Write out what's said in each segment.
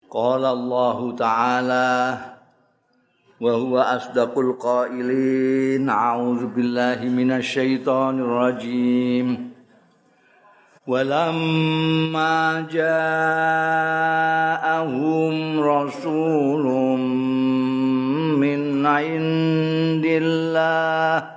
Qala Allah Ta'ala wa huwa asdaqul qailin. A'udzu billahi minasy syaithanir rajim. Walamma ja'ahum rasulun min 'indillah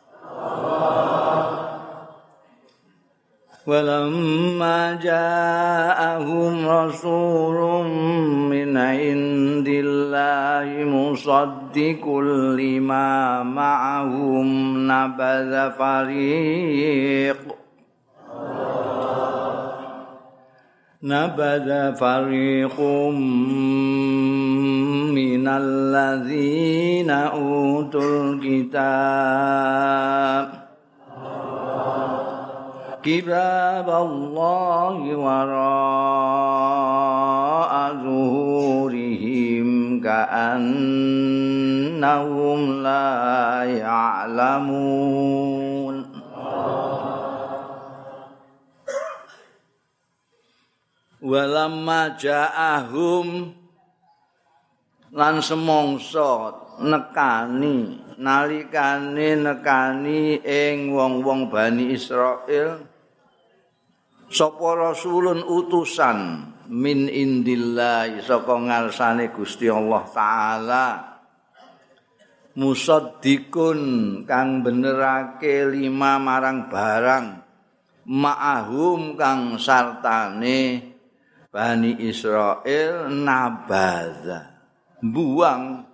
Walamma ja'ahum rasulun min 'indillahi musaddiqul lima ma'ahum nabadha fariqum minal ladzina utul kitab Allahi wara'a zuhurihim ka'annahum la ya'lamun. Walamma ja'ahum lan semongso nekani nalikane nekani ing wong-wong Bani Israil sapa rasulun utusan min indillah saka ngarsane Gusti Allah taala musaddiqun kang benerake lima marang barang ma'ahum kang sartane Bani Israil nabadha buang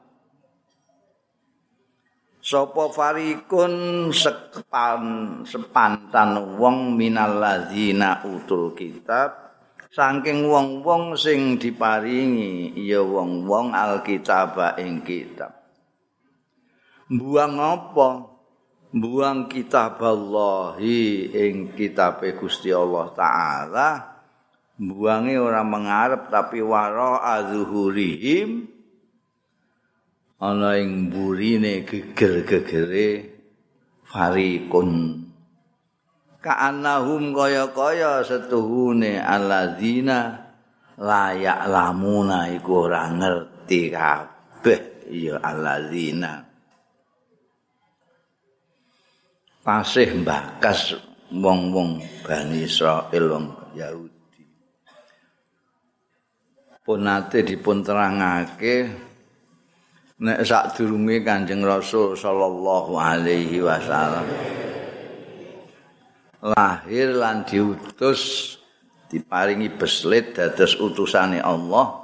sapa farikun sepantan wong minal ladzina utul kitab saking wong-wong sing diparingi ya wong-wong alkitab ing kitab. Buang apa? Buang kitab Allahi ing kitabe Gusti Allah taala. Buange ora mengarep tapi wara azhurihim ana ing burine geger-gegere fariqun ka'annahum kaya-kaya setuhune alladzina la ya'lamuna iku ora ngerti kabeh ya alladzina pasih mbakas wong-wong Bani Israil wong Yahudi pun nate dipun terangake nek sadurunge Kanjeng Rasul sallallahu alaihi wasallam lahir lan diutus diparingi beslit dados utusane Allah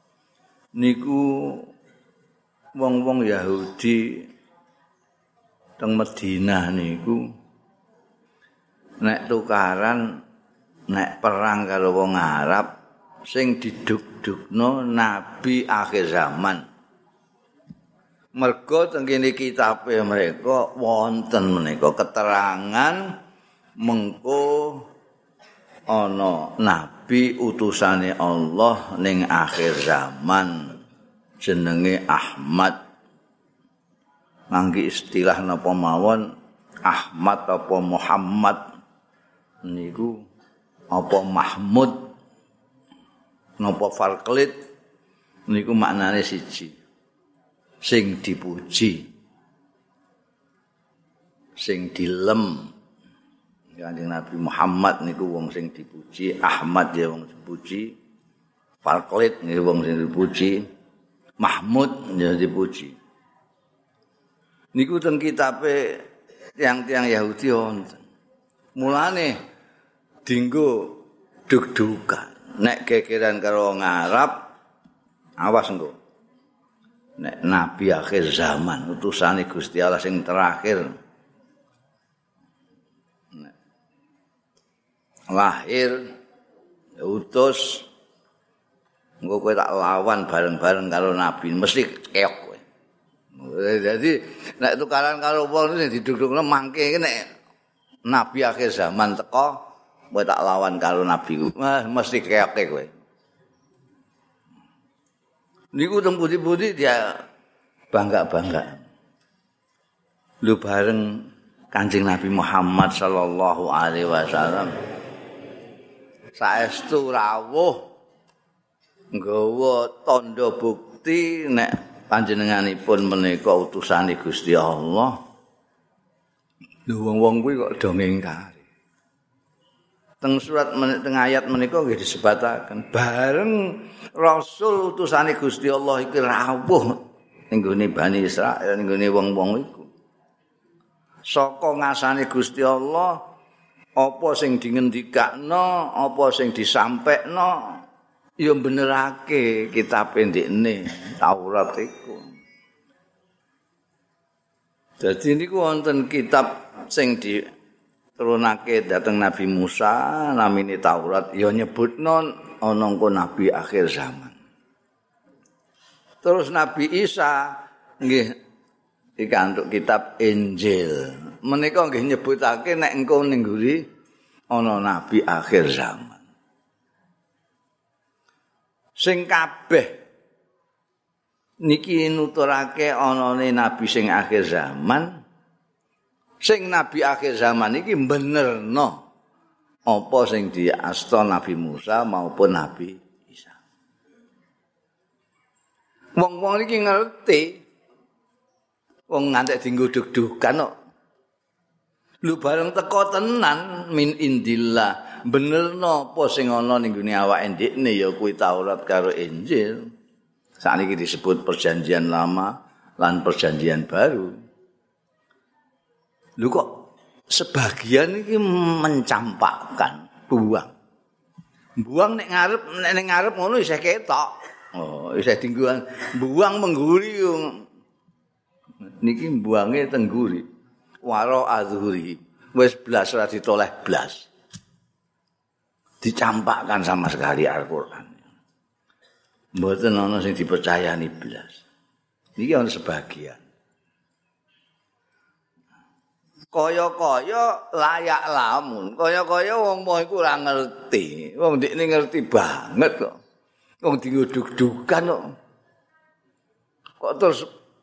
niku wong-wong Yahudi teng Madinah niku nek tukaran nek perang karo wong Arab sing diduk-dukno nabi akhir zaman. Mergo teng kene kitabe mereka wonten menika keterangan mengko ana nabi utusane Allah ning akhir zaman jenenge Ahmad. Ngangge istilah napa mawon Ahmad apa Muhammad niku apa Mahmud napa Farqlit niku maknane siji. Sing dipuji sing dilem Kanjeng Nabi Muhammad niku wong sing dipuji Ahmad ya wong dipuji Farqlit niku wong sing dipuji Mahmud ya dipuji niku teng kitabe tiang-tiang Yahudi wonten mulane dienggo dug-dugan nek gegeran karo wong Arab awas engko nek nabi akhir zaman utusane Gusti Allah sing terakhir lahir utus engko kowe tak lawan bareng-bareng karo nabi mesti keok kowe. Jadi nek tukaran karo wong sing didudukno mangke nek nabi akhir zaman teko kowe tak lawan karo nabi mesti keoke kowe. Niku teng putih-putih dia bangga-bangga. Lu bareng Kanjeng Nabi Muhammad sallallahu alaihi wasallam. Saestu rawuh nggawa tanda bukti nek panjenenganipun menika utusane Gusti Allah. Lho wong-wong kuwi kok do ngingkari. Teng surat teng ayat menika nggih disebataken bareng rasul utusane Gusti Allah iki rawuh ning gone Bani Israil ning gone wong-wong iku. Saka ngasane Gusti Allah apa sing dingendikakno, apa sing disampekno ya benerake kitab ndekne Taurat iku. Dadi niku wonten kitab sing diturunake dhateng Nabi Musa namine Taurat ya nyebutno ana engko nabi akhir zaman. Terus Nabi Isa nggih dikantuk kitab Injil. Menika nggih nyebutake nek engko ning ngguri ana nabi akhir zaman. Sing kabeh niki nuturake anane nabi sing akhir zaman. Sing nabi akhir zaman iki benerno apa sing diasta Nabi Musa maupun Nabi Isa. Wong-wong iki ngerti. Wong ngantek dienggo dug-dugan kok. Lu bareng teko tenan min indillah. Benerno apa sing ana ning gone awake ndekne ya kuwi Taurat karo Injil. Sakniki disebut perjanjian lama lan perjanjian baru. Lho kok sebagian iki mencampakkan buang. Buang nek ngarep ngono isih ketok. Oh, isih dingguan buang mengguri niki buange tengguri. Waro azhuri. Wis blas ora ditoleh blas. Dicampakkan sama sekali Al-Qur'an. Mboten ana sing dipercayani blas. Niki ana sebagian. Kaya-kaya layak lamun. Kaya-kaya wong mau iku ora ngerti. Wong ndekne ngerti banget kok. Wong digodhog-dogan kok. Kok terus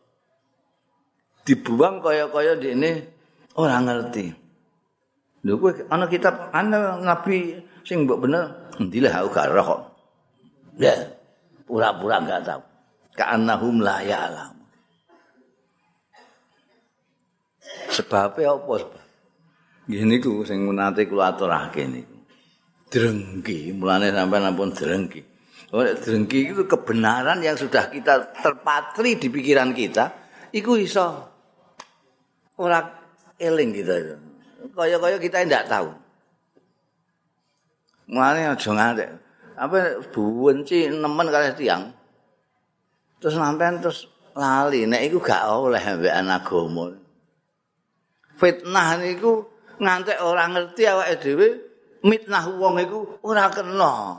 dibuang kaya-kaya ndekne ora ngerti. Lho kowe ana kitab ana nabi sing mbok bener ndilah aku gak roh kok. Ya, pura-pura enggak tahu. Ka'annahum la ya'lam. Sebabnya apa sebab? Nggih niku sing nate kula aturake niku. Drengki, mulane sampean ampun drengki. Drengki itu kebenaran yang sudah kita terpatri di pikiran kita, iku iso ora eling kita itu. Kaya-kaya kita ndak tahu. Mulane aja ngantek. Apa benci nemen kalih tiyang. Terus sampean terus lali nek iku gak oleh ambekan agama. Fitnah niku ngantek ora ngerti awake dhewe mitnah wong iku ora kena.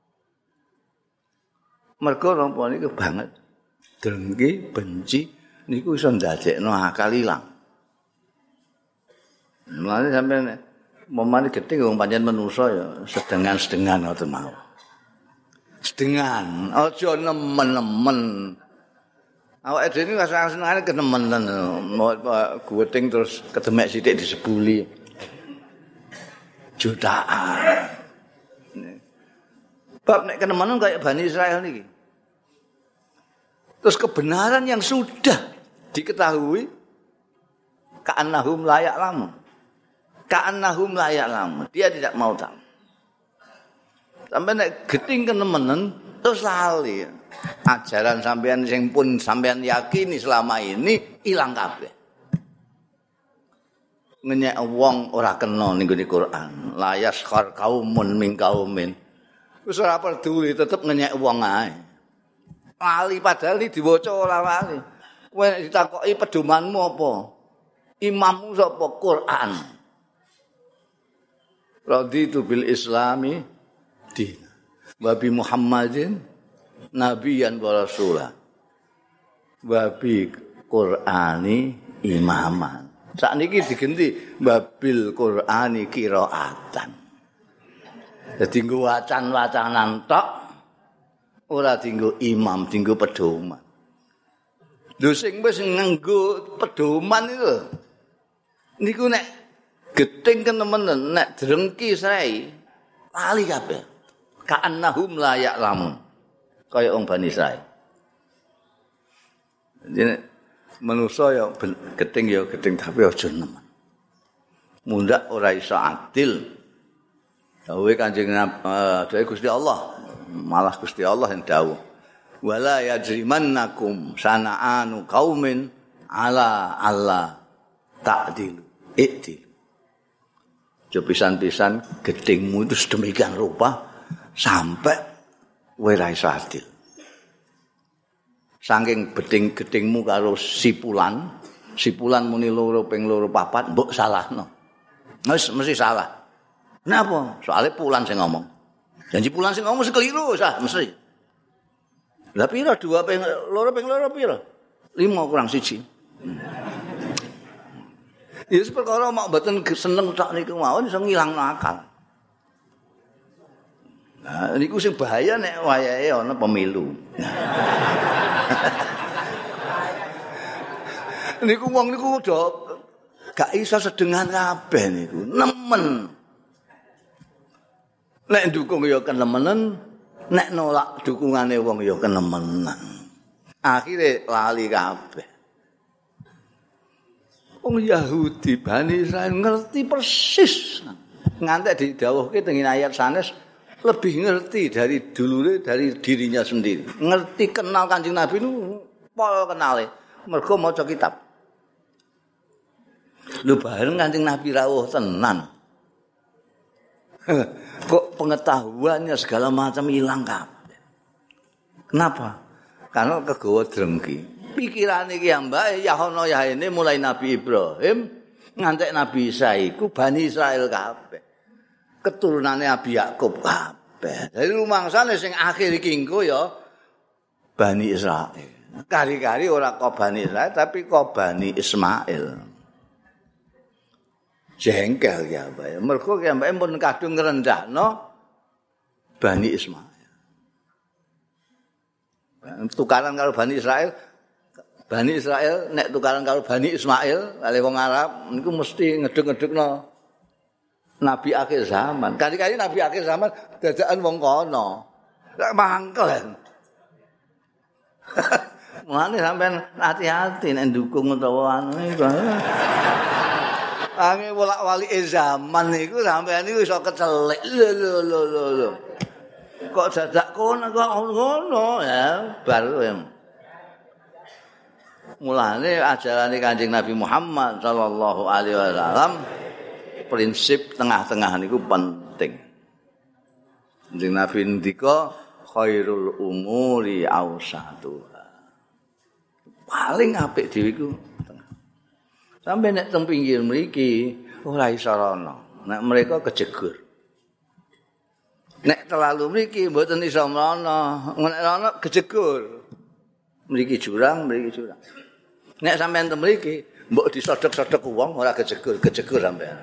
Mergo napa niku banget. Drengki, benci niku iso ndadekno akal ilang. Mulane sampeyan momane gedhe wong pancen manusa ya sedengan-sedengan ngoten mawon. Sedengan, aja nemen-nemen. Awake dhewe iki senengane kenemenen. Guweting terus kedemek sithik disebuli. Jutaan. Bab nek kenemenen kayak Bani Israil niki. Terus kebenaran yang sudah diketahui ka'annahum la ya'lamun. Ka'annahum la ya'lamun. Dia tidak mau tahu. Sampai nek geting kenemenen terus lali. Ajaran sampean sing pun sampean yakini selama ini ilang kabeh. Ngenyek wong ora kena ning gone Quran. La yaskhar qaumun min qaumin. Wis ora peduli tetep ngenyek wong ae. Lali padahal iki diwaca ora lali. Kowe ditakoki pedomanmu apa? Imammu sapa? Quran. Raditu bil Islami din. Wa bi Muhammadin nabiyan wa rasulah. Wa bi Qur'ani imaman. Sakniki digenti babil Qur'ani qiraatan. Dadi nggo wacan-wacanan tok ora dienggo imam, dienggo pedoman. Lho sing wis nganggo pedoman itu niku nek geting kenemenen nek drengki srei lali kabeh. Ka'annahum la ya'lamun. kaya wong Bani Israil. Jadi manusa ya gedeng tapi aja nemen. Mundak ora iso adil. Dawuh Kanjeng Nabi Gusti Allah, malah Gusti Allah yang dawuh. Wala yajrimannakum sana'anu qaumin ala Allah ta'dilu. Ikdil. Pisan-pisan gedengmu itu sedemikian rupa sampai kowe ra iso adil. Saking gedengmu karo sipulan muni loro ping loro papat mbok salahno. Wis mesti salah. Napa? Soale pulan sing ngomong. Janji pulan sing ngomong mesti keliru sah mesti. Lah pira 2 ping loro pira? 5 kurang 1. Ya perkara mak mboten seneng tok niku mawon iso ngilangno akal. Nah, niku sing bahaya nek wayahe ana pemilu. Niku wong niku gak iso sedengan kabeh niku, nemen. Nek dukung ya kenemenen, nek nolak dukungane wong ya kenemenan. Akhire lali kabeh. Wong Yahudi Bani Israil ngerti persis. Ngantek didhawuhke teng ayat sanes lebih ngerti dari dulure dari dirinya sendiri. Ngerti kenal Kanjeng Nabi nu pol kenale. Mergo maca kitab. Lho bareng Kanjeng Nabi rawuh tenan. Kok pengetahuannya segala macam hilang kabeh. Kenapa? Karena kegawa drengki. Pikirane iki ambake ya ono ya ini mulai Nabi Ibrahim ngantek Nabi Isa iku Bani Israil kabeh. Keturunane Nabi Yakub kabeh. Dari rumangsane sing akhir iki engko ya Bani Israil. Kari-kari ora kok Bani Israil tapi kok Bani Ismail. Jengkel ya Mbak. Mergo ya Mbak pun kadung ngrendahno Bani Ismail. Tukaran karo Bani Israil nek tukaran karo Bani Ismail, kali wong Arab niku mesti ngeduk-ngedukno nabi akhir zaman. Kali-kali nabi akhir zaman dadakan wong kono. Lek mangkel. Mulane sampean hati-hati nek ndukung utawa anu iku. Ange bolak-balik zaman niku sampean niku iso kecelik. Lho. Kok dadak kono kok ngono ya baru ya. Mulane ajarane Kanjeng Nabi Muhammad sallallahu alaihi wasallam prinsip tengah-tengah niku penting. Kanjeng Nabi ndika khairul umuri awsatuha. Paling apik dhewe iku tengah. Sampai nek teng pinggir mriki ora iso rono. Nek mereka kejegur. Nek terlalu mriki mboten iso mrono. Nek rono kejegur. Mriki jurang. Nek sampean teng mriki mbok disodok-sodok wong ora kejegur sampean.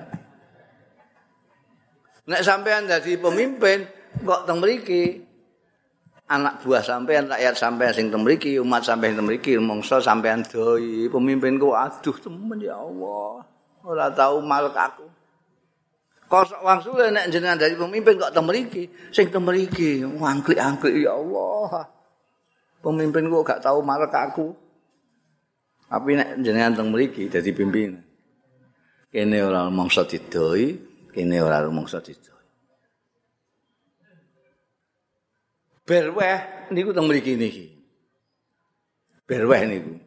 Nek sampean dadi pemimpin kok teng mriki anak buah sampean, rakyat sampean sing teng mriki, umat sampean teng mriki, mongso sampean doi pemimpinku aduh temen ya Allah. Ora tau malek aku. Kosok wangsule nek jenengan dadi pemimpin kok teng mriki, sing teng mriki wangklik-angklik ya Allah. Pemimpinku gak tau malek aku. Tapi nek jenengan teng mriki dadi pimpinan. Kene ora mongso didoi, kene ora mongso didoi. Berweh niku teng mriki niki. Berweh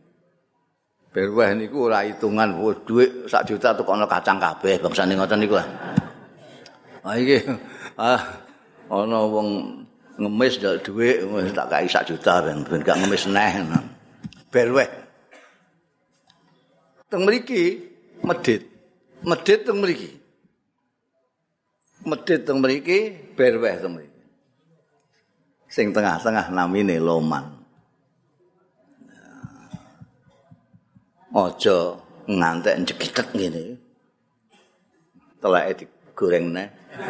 niku ora hitungan dhuwit 1 juta tukono kacang kabeh bangsane ngoten niku. Iki ana wong ngemis ndal dhuwit wis tak kai 1 juta ben gak ngemis neh. Berweh. Teng mriki medhit teng mriki. Medhit teng mriki, berweh teng mriki. Sing tengah-tengah namine loman. Aja ngantek jegitek ngene. Teleke digoreng neh.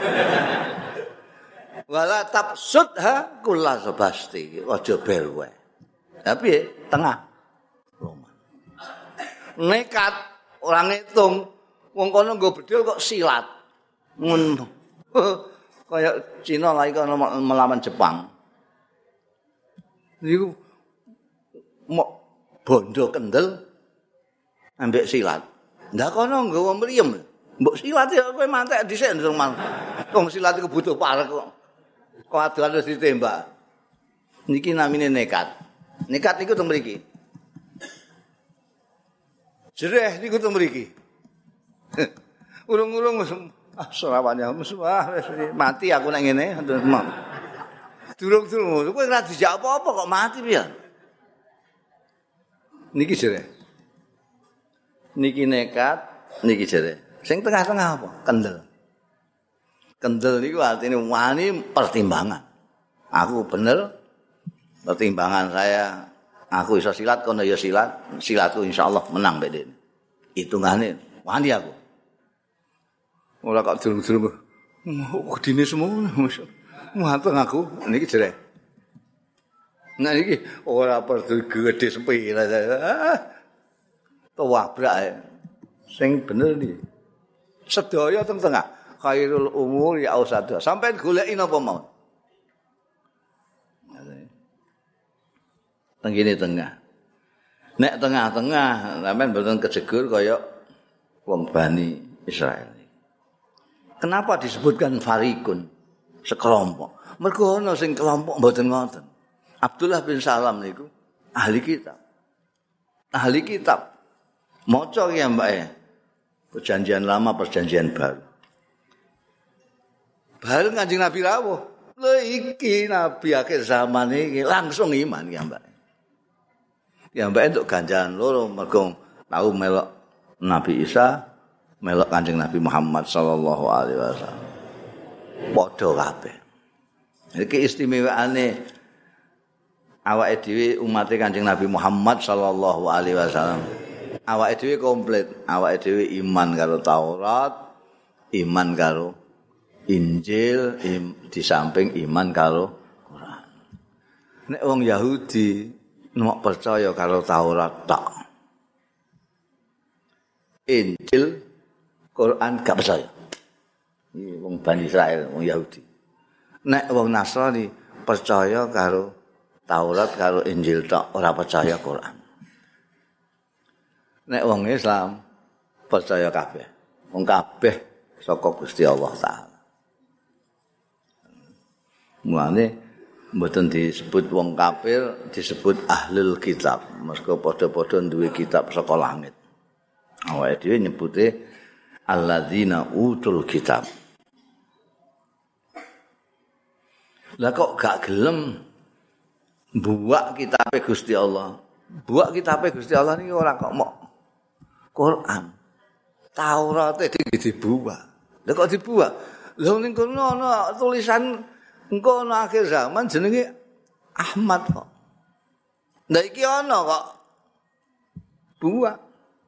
Wala tapsudha kula sabasti, aja berweh. Tapi tengah loman. Nekat ora ngitung wong kono nggo bedil kok silat. Ngono. Kaya Cina lagi kono melawan Jepang. Niku mok bondo kendel ambek silat. Ndak kono nggawa mriyem. Mbok silat ya kowe mantek dhisik ndang man. Wong silat iku butuh parek kok. Kok adoan wis ditembak. Niki namine nekat. Nekat niku teng mriki. Jereh niku teng mriki. Urung-urung serawannya mati aku nek ngene. Durung-durung kowe ora dijak apa-apa kok mati piye? Niki jereh. Niki nekat, niki jereh. Sing tengah-tengah apa? Kendel. Kendel niku artine wani pertimbangan. Aku bener pertimbangan saya. Aku iso silat kono ya silat. Silatku insyaallah menang mbek dene. Hitungane wani aku. Ora kok durung-durung. Gedine semono. Manteng aku niki jereh. Nah iki ora perlu gedhe sepira. Tawabrak sing bener iki. Sedaya teng tengah. Khairul umur ya ausada. Sampai goleki napa mau. Teng kene tengah. Nek tengah-tengah sampean mboten kejegur kaya wong Bani Israil. Kenapa disebutkan farikun? Sekelompok. Mergo ana sing kelompok mboten ngoten. Abdullah bin Salam niku ahli kitab. Ahli kitab. Maca ya Mbak ya. Perjanjian lama, perjanjian baru. Baru Kanjeng Nabi rawuh. Lho iki nabi akhir zaman iki langsung iman ya Mbak. Ya Mbak untuk ganjaran loro mergo tau melok Nabi Isa, melok Kanjeng Nabi Muhammad sallallahu alaihi wasallam. Padha kabeh. Iki istimewaane awake dhewe umat Kanjeng Nabi Muhammad sallallahu alaihi wasallam. Awake dhewe komplit, awake dhewe iman karo Taurat, iman karo Injil, di samping iman karo Quran. Nek wong Yahudi nek percaya karo Taurat tok. Injil, Quran gak percaya. Iki wong Bani Israil, wong Yahudi. Nek wong Nasrani percaya karo Taurat karo Injil tok, ora percaya Quran. Nek wong Islam percaya kabeh. Wong kabeh saka Gusti Allah Taala. Mulane mboten disebut wong kafir, disebut ahlul kitab. Mergo padha-padha duwe kitab saka langit. Awake dhewe nyebute alladzina utul kitab. Lah kok gak gelem buak kitabe Gusti Allah. Buak kitabe Gusti Allah niki ora kok mok Quran. Taurat dibuak. Lah kok dibuak? Lah ning kono ana tulisan engko ana akhir zaman jenenge Ahmad kok. Lah iki ana kok buak.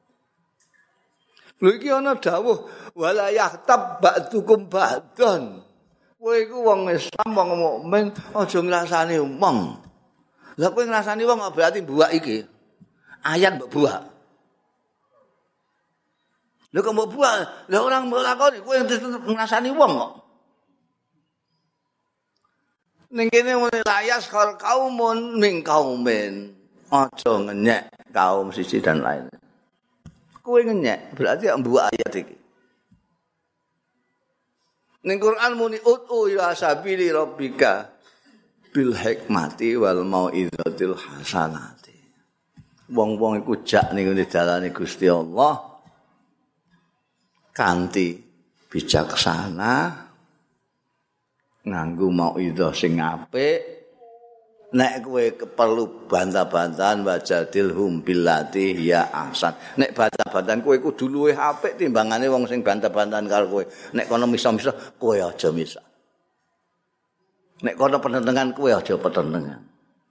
Lho iki ana dawuh wala yahtab ba'dukum ba'dan. Kowe iku wong Islam, wong mukmin, aja ngrasani wong. Lah kowe ngrasani wong berarti buak iki. Ayat mbok buak. Lha kok mbok buak? Lah orang mbok lakoni kowe ngrasani wong kok. Ning kene layas kaumun min kaumin. Aja ngenyek kaum siji dan lain. Kowe ngenyek berarti mbuak ayat iki. Ning Quran muni ud'u ila sabili rabbika bil hikmati wal mau'izatil hasanati. Wong-wong iku jak ning dalane Gusti Allah kanthi bijaksana nganggo mau'izah sing apik. Nek kowe perlu bantah-bantahan wajadilhum billati ya ahsan. Nek bantah-bantahan kowe kudu luwih apik timbangane wong sing bantah-bantahan karo kowe. Nek kono misa-misa kowe aja misa. Nek kono penentengan kowe aja penentengan.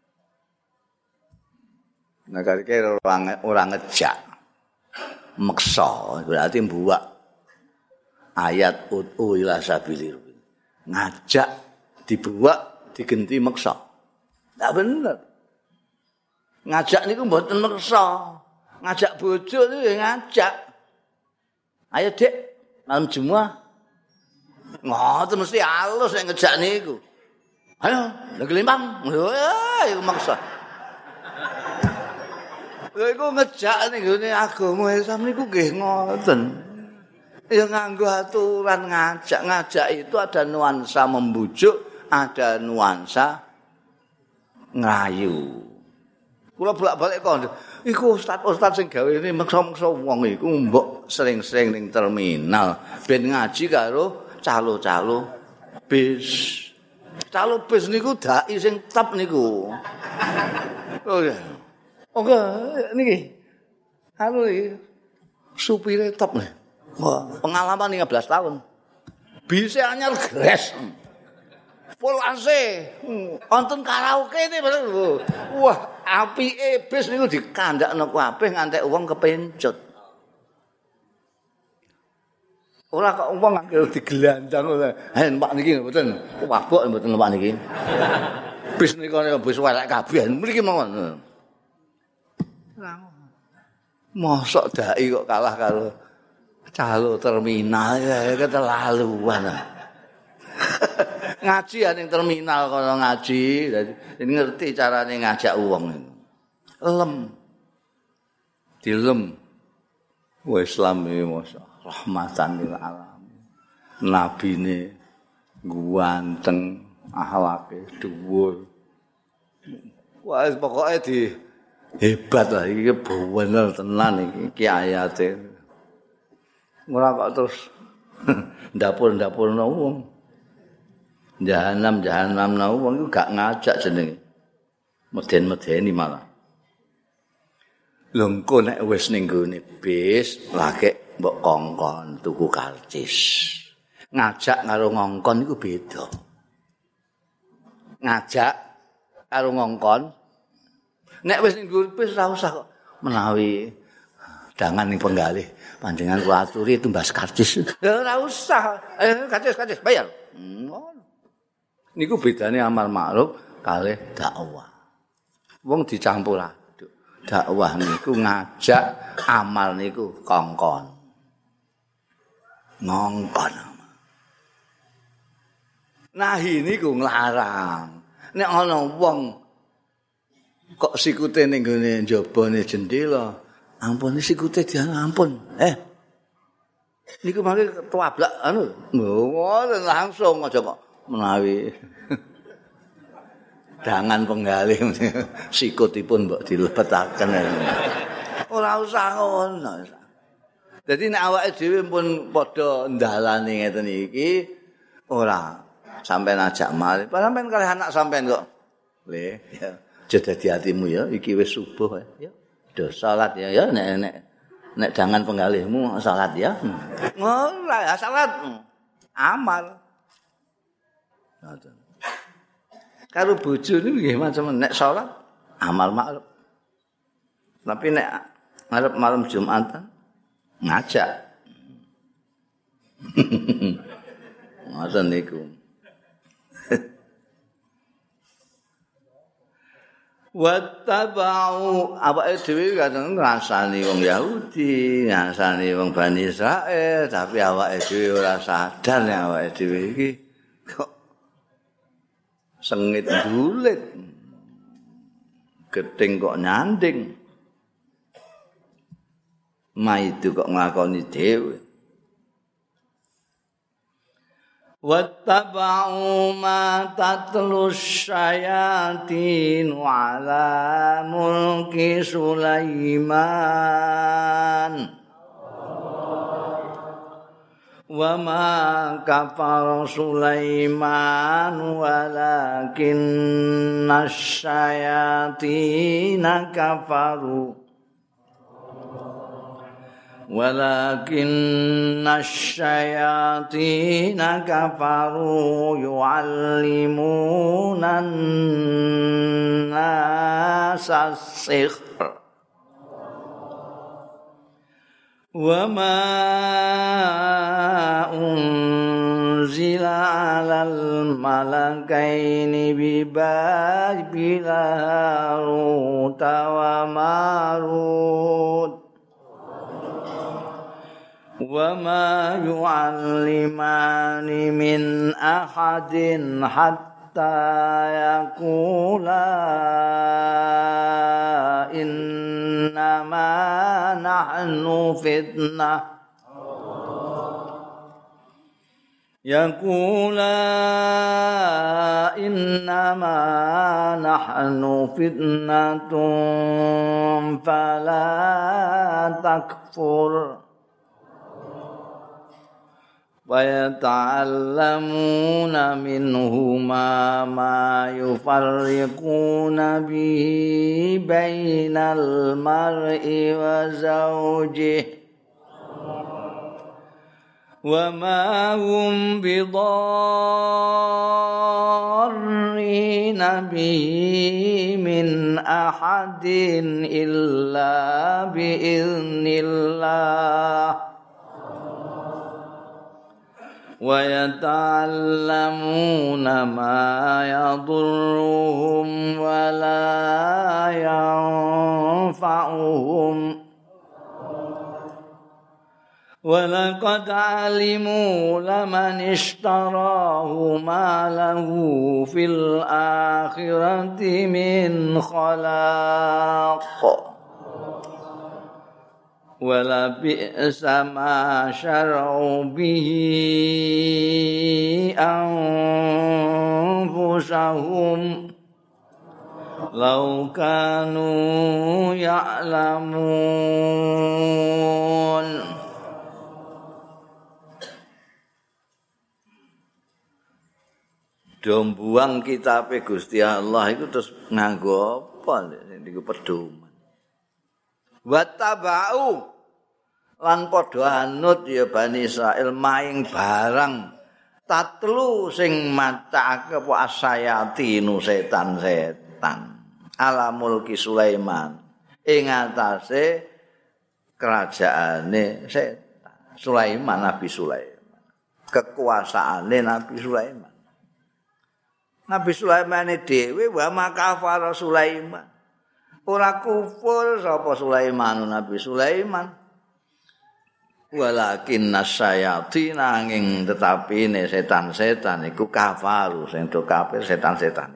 Nek kira ora ngejak. Meksa berarti mbuak ayat ud'u ila sabilir. Ngajak dibuak digenti meksa. Tak bener. Ngajak niku mboten meksa. Ngajak bojo niku ngajak. Ayo Dik, malam Jumat. Ngoten mesti halus nek ngejak niku. Ayo, lagi limbang. Ayo maksa. Lha iku ngejak ning gone agama Islam niku nggih ngoten. Ya nganggo aturan ngajak itu ada nuansa membujuk, ada nuansa nglayu. Kula bolak-balik kok. Iku ustaz sing gawe ini meksa-meksa wong iku mbok sering-sering ning terminal ben ngaji karo calo-calo bis. Calo bis niku dai sing tep niku. Oh ya. Oke, niki. Anu iki supire top nih. Wah, pengalaman 15 tahun. Bise anyar gres. Full AC. Wonten karaoke ini bener. Wah, apike bis niku dikandakno kabeh ngantek wong kepencut. Ora kok wong anggere digelandang ora. Pak niki mboten. Wabok mboten Pak niki. Bis niku bis welek kabeh. Mriki mawon. Mosok dai kok kalah karo calo terminal ya keterlaluan. Ngaji ya ning terminal kono ngaji, dadi ngerti carane ngajak wong. Lem. Dilem. Wa Islam iki mosok rahmatan lil alamin. Nabine ganteng, akhlake dhuwur. Wah pokoke hebat lah iki bener tenan iki ayate. Ora kok terus ndapur-ndapurno wong. Jahanam wong iku gak ngajak jenenge. Meden-medeni malah. Lho engko nek wis ning gone bis, lagi mbok kongkon tuku karcis. Ngajak karo ngongkon iku beda. Ngajak karo ngongkon nek wis ning gone bis ora usah kok menawi dangan ning penggalih. Panjenengan kula aturi tumbas karcis. Ya ora usah. Karcis bayar. Niku bedane amal ma'ruf kalih dakwah. Wong dicampur aduk. Dakwah niku ngajak, amal niku kongkon. Ngongkon. Nahi niku nglarang. Nek ana wong kok sikute ning gone njabane jendela ampun sikute dian ampun. Niku mangke tuablak anu. Ngoten langsung aja kok menawi dangan penggalih sikutipun mbok dilebetaken. Ora usah ngono. Dadi nek awake dhewe pun padha ndalane ngeten iki ora sampean ajak mari. Sampean kalih anak sampean kok. Le ya aja dadi atimu ya iki wis subuh ya. Do salat ya nek jangan penggalihmu salat ya. Ora ya salat amal. Ngoten. Karo bojo niku nggih macam nek salat amal makruf. Tapi nek ngarep malam Jumatan ngajak. Ngoten niku. Wattaba'u awake dhewe kadang ngrasani wong Yahudi, ngrasani wong Bani Israil, tapi awake dhewe ora sadar nek awake dhewe iki kok sengit dulit. Gething kok nyanding. Maidu kok nglakoni dhewe. Wattaba'u ma tatlu syayatin ala mulki Sulaiman wa ma kafara Sulaiman walakinna syayatin kafaru ولكن الشياطين كفروا يعلمون الناس السحر وما أنزل على الملكين ببابل هاروت وماروت وما يعلمان من أحد حتى يقولا إنا إنما نحن فتنة يقولا إنما نحن فتنة فلا تكفر ويتعلمون منهما ما يفرقون به بين المرء وزوجه وما هم بضارين به من أحد إلا بإذن الله ويتعلمون ما يضرهم ولا ينفعهم ولقد علموا لمن اشتراه ما له في الآخرة من خلاق ولبئس ما شروا به أنفسهم لو كانوا يعلمون. Dombuang kitabe Gusti Allah iku terus nganggo apa niku pedoman. Wa tabau lan padha anut ya Bani Israil maing barang tatlu sing macake apa asayatinu setan-setan ala mulki Sulaiman ing atase kerajaane setan Sulaiman Nabi Sulaiman kekuasaane Nabi Sulaiman Nabi Sulaiman dhewe wa makafara Sulaiman. Ora kufur sapa Sulaiman Nabi Sulaiman. Walakin nasyayatin nanging tetapine setan-setan iku kafaru sing do kafir setan-setan.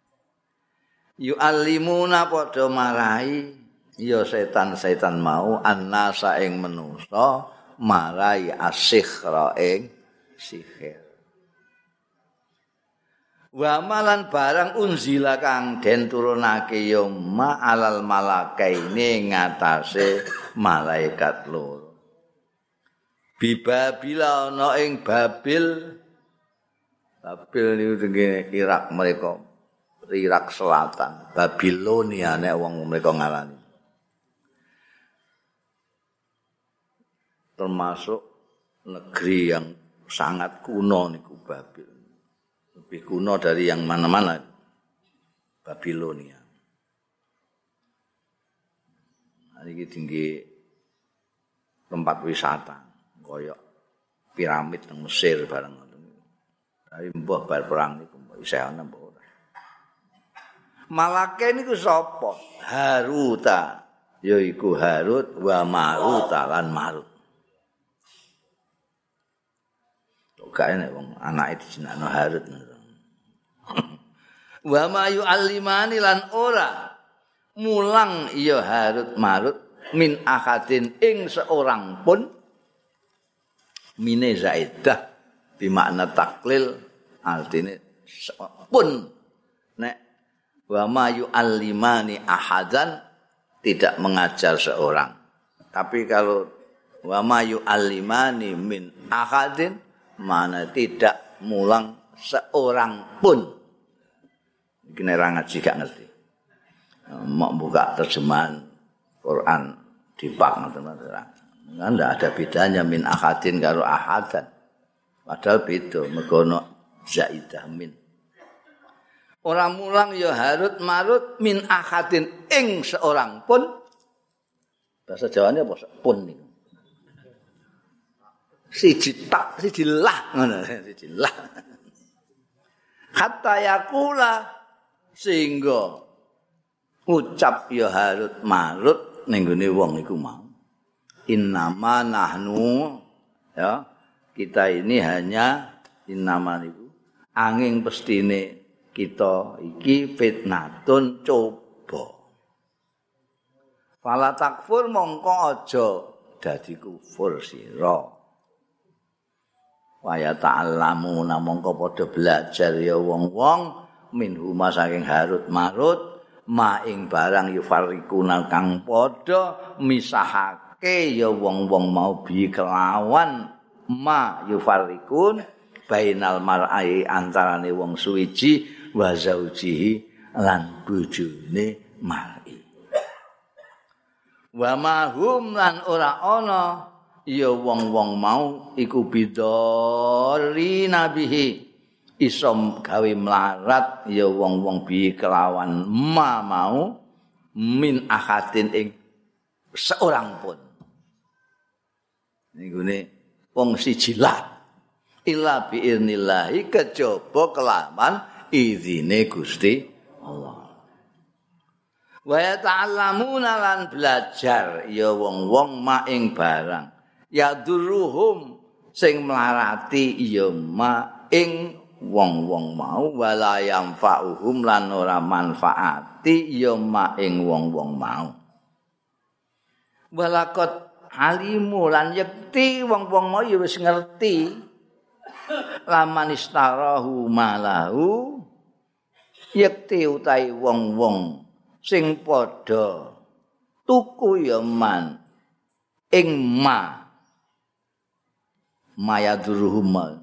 Yu'allimuna padha marai ya setan-setan mau annasa ing manusa marai asikhra ing sihir. Wa malan barang unzila kang den turunake ya ma'alal malakaini ngatasé malaikat loro. Bibabila ana ing Babil. Babil niku tengene Irak mereka. Irak Selatan, Babilonia nek wong mereka ngarani. Termasuk negeri yang sangat kuno niku Babil. Lebih kuno dari yang mana-mana Babilonia. Ini tinggi tempat wisata, koyok piramid nang Mesir bareng. Tapi mbah bar perang niku isih ana mbah ora. Malake niku sapa? Haruta, yaiku Harut wa Marut lan Marut. Kok nek wong anake dijenakno Harut. Wa ma yu'allimani lan ora mulang ya Harut Marut min akadin ing seorang pun mine zaidah bimakna taklil artine pun nek wa ma yu'allimani ahadan tidak mengajar seorang tapi kalau wa ma yu'allimani min akadin mana tidak mulang seorang pun. Kene ra ngaji gak ngerti. Mau buka terjemahan Quran di pak ngoten-ngoten. Ndak ada bedanya min ahadin karo ahadan. Padahal beda mergo ana zaidah min. Ora mulang ya Harut Marut min ahadin ing seorang pun. Bahasa Jawane apa pun niku. Siji tak siji lah ngono siji lah. Hatta yakula sehingga ucap ya Harut Marut ning gone wong iku mau innama nahnu ya kita ini hanya innama niku angin pestine kita iki fitnatun coba Fala takfur mongko aja dadi kufur sira. Wa ya ta'allamu mongko padha belajar ya wong-wong minhuma saking Harut Marut ma ing barang yufarikuna kang padha misahake ya wong-wong mau bi kelawan ma yufarikun bainal mar'i antarane wong suwiji wa zaujihi lan bojone mar'i wa mahum lan ora ana ya wong-wong mau iku bidori nabihi isom gawe melarat ya wong-wong bi kelawan ma mau min ahadin ing seorang pun nggone wong siji lah illa bi irnillahi kejaba kelawan izine Gusti Allah wa ta'allamuna lan belajar ya wong-wong ma ing barang ya duruhum sing melarati ya ma ing wong-wong mau wala yanfa'uhum lan ora manfaati ya ma ing wong-wong mau walakot alimu lan yakti wong-wong mau ya wis ngerti laman istarahu malahu yakti utahe wong-wong sing padha tuku ya man ing ma mayaduruhum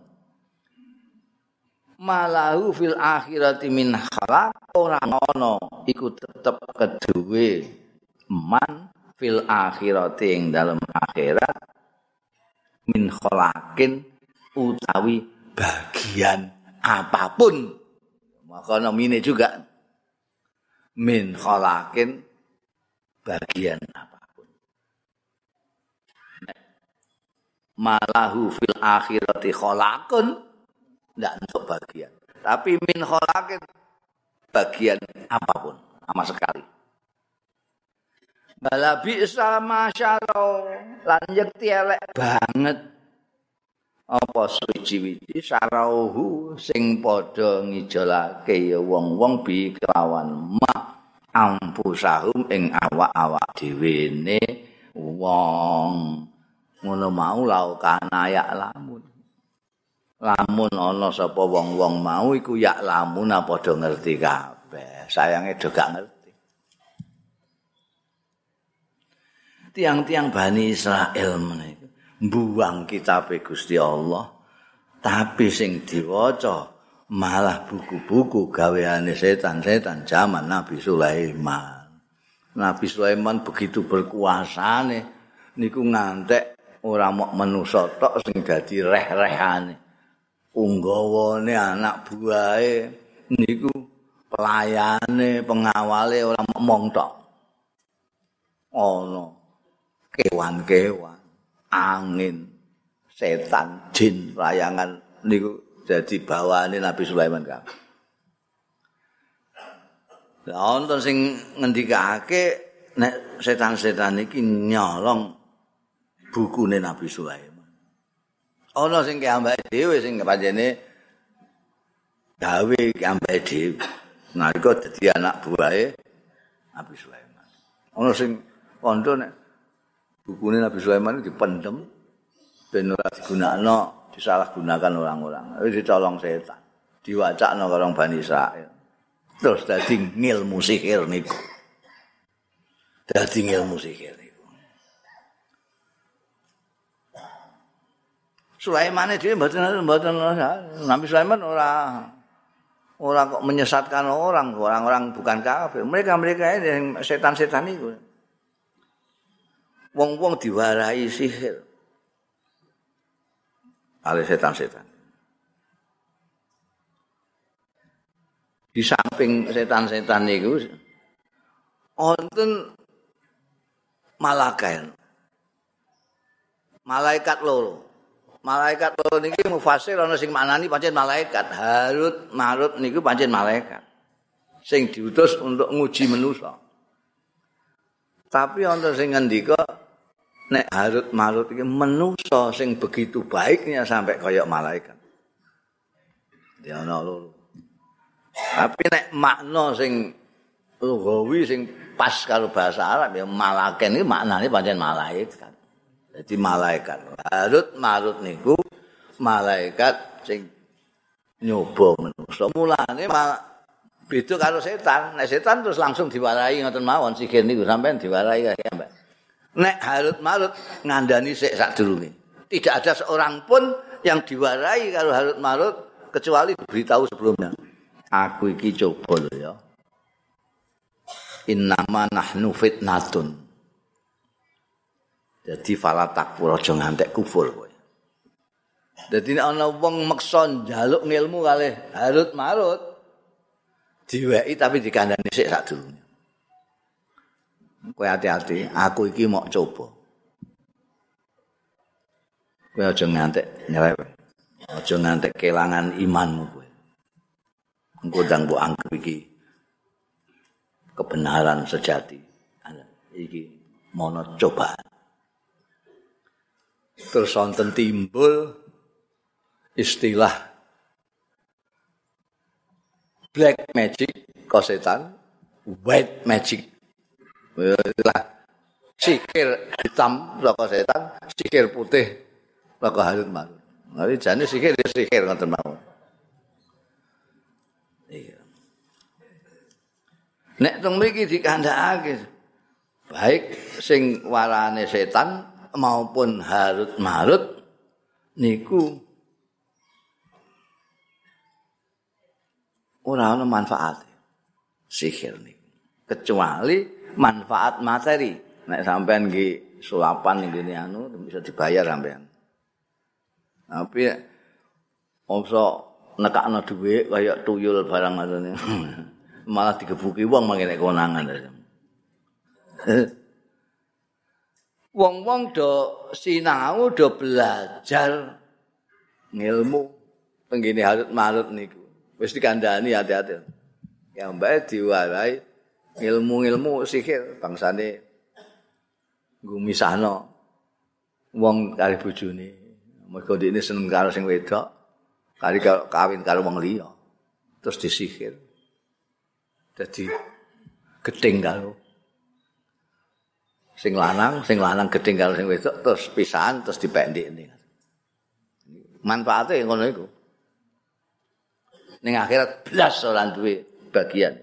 malahu fil akhirati min khalaq ora ana iku tetep keduwe man fil akhirati ing dalem akhirat min khalaqin utawi bagian apapun maka nomine juga min khalaqin bagian apapun malahu fil akhirati khalaqun ndak untuk bagian. Tapi min khalaqin bagian apapun, sama sekali. Bala bi'sa masyaallah lan yekti elek banget apa suci-wici sarauhu sing padha ngijolake ya wong-wong bi kelawan ma ampusahum ing awak-awak dhewene wong ngono mau laukana ya lamun ana sapa wong-wong mau iku ya lamun padha ngerti kabeh sayange do gak ngerti tiang-tiang Bani Israel menika mbuang kitabe Gusti Allah tapi sing diwaca malah buku-buku gaweane setan-setan zaman Nabi Sulaiman. Nabi Sulaiman begitu berkuasane niku ngantek ora mok manusa tok sing dadi reh-rehane. Unggawane anak buahe niku pelayane pengawale ora mong tok. Ana kewan-kewan, angin, setan, jin, layangan niku dadi bawaane Nabi Sulaiman kabeh. Lah wonten sing ngendikake nek setan-setan iki nyolong bukune Nabi Sulaiman. Ana sing ambake dhewe sing pancene gawe ambake dhewe. Nalika dadi anak buahe Nabi Sulaiman. Ana sing kandha nek bukune Nabi Sulaiman dipendem ben ora digunakno, disalahgunakan orang-orang. Wis dicolong setan. Diwacakno karo Bani Israil. Terus dadi ngilmu sihir niku. Dadi ngilmu sihir niku. Sulaiman dhewe mboten Nabi Sulaiman ora kok menyesatkan orang-orang bukan kafir. Mereka ini setan-setan itu. Wong-wong diwarahi sihir. Oleh setan-setan. Di samping setan-setan itu wonten malaikat loro. Malaikat loro niki mufasir ana sing maknani pancen malaikat. Harut Marut niku pancen malaikat. Sing diutus untuk nguji manusa. Tapi ana sing ngendika nek Harut Marut iki manusa sing begitu baiknya sampai kaya malaikat. Dia ana loro. Tapi nek makna sing lugawi sing pas karo bahasa Arab ya malaken iki maknane pancen malaikat. Jadi malaikat. Harut marut niku malaikat sing nyoba manusa. Mulane beda karo setan. Nek setan terus langsung diwarai ngoten mawon sikir niku sampean diwarai kaya Mbak. Nek harut marut ngandani sik sadurunge. Tidak ada seorang pun yang diwarai karo harut marut kecuali diberitahu sebelumnya. Aku iki coba lho ya. Innama nahnu fitnatun. Jadi fala takfur aja ngantek kufur kowe. Dadi nek ana wong meksa njaluk ngilmu kalih harut marut diweki tapi dikandani sik sadurunge. Kowe hati-hati, aku iki mau coba. Kowe aja ngantek nyeleweng. Aja ngantek kelangan imanmu kowe. Engko ndang mbok anggap iki kebenaran sejati. Iki mono cobaan. Terus wonten timbul istilah black magic kosetan, white magic. Istilah sihir hitam saka setan, sihir putih saka harut marut. Tapi jane sihir ya sihir ngoten mawon. Iya. Nek teng mriki dikandhakake baik sing warane setan maupun harut marut niku ora ana manfaat sihir niku kecuali manfaat materi. Nek sampean nggih sulapan ngene anu bisa dibayar sampean. Tapi omso nekakno dhuwit kaya tuyul barang ngoten malah digebuki wong mangkene konangan. Wong-wong do sinau do belajar ngilmu tenggene harut marut niku. Wis dikandhani hati-hati. Ya mbake diwarai ilmu-ilmu sihir bangsane nggo misahno wong karo bojone. Mergo dhekne seneng karo sing wedok, kali kawin karo wong liya. Terus disihir. Dadi gething karo sing lanang gedeng karo sing wedok terus pisahan terus dipendhekne. Manfaate ngono iku. Ning akhirat blas ora duwe bagian.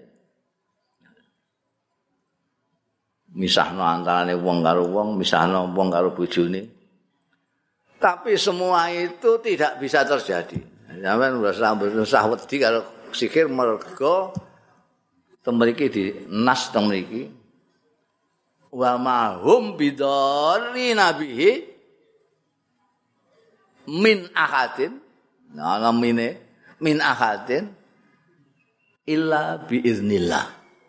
Misahno antarane wong karo wong, misahno wong karo bojone. Tapi semua itu tidak bisa terjadi. Sampeyan usah wedi karo sihir mergo teng mriki di nas teng mriki wa ma hum bidarri nabihi min ahadin namine min ahadin illa biiznillah.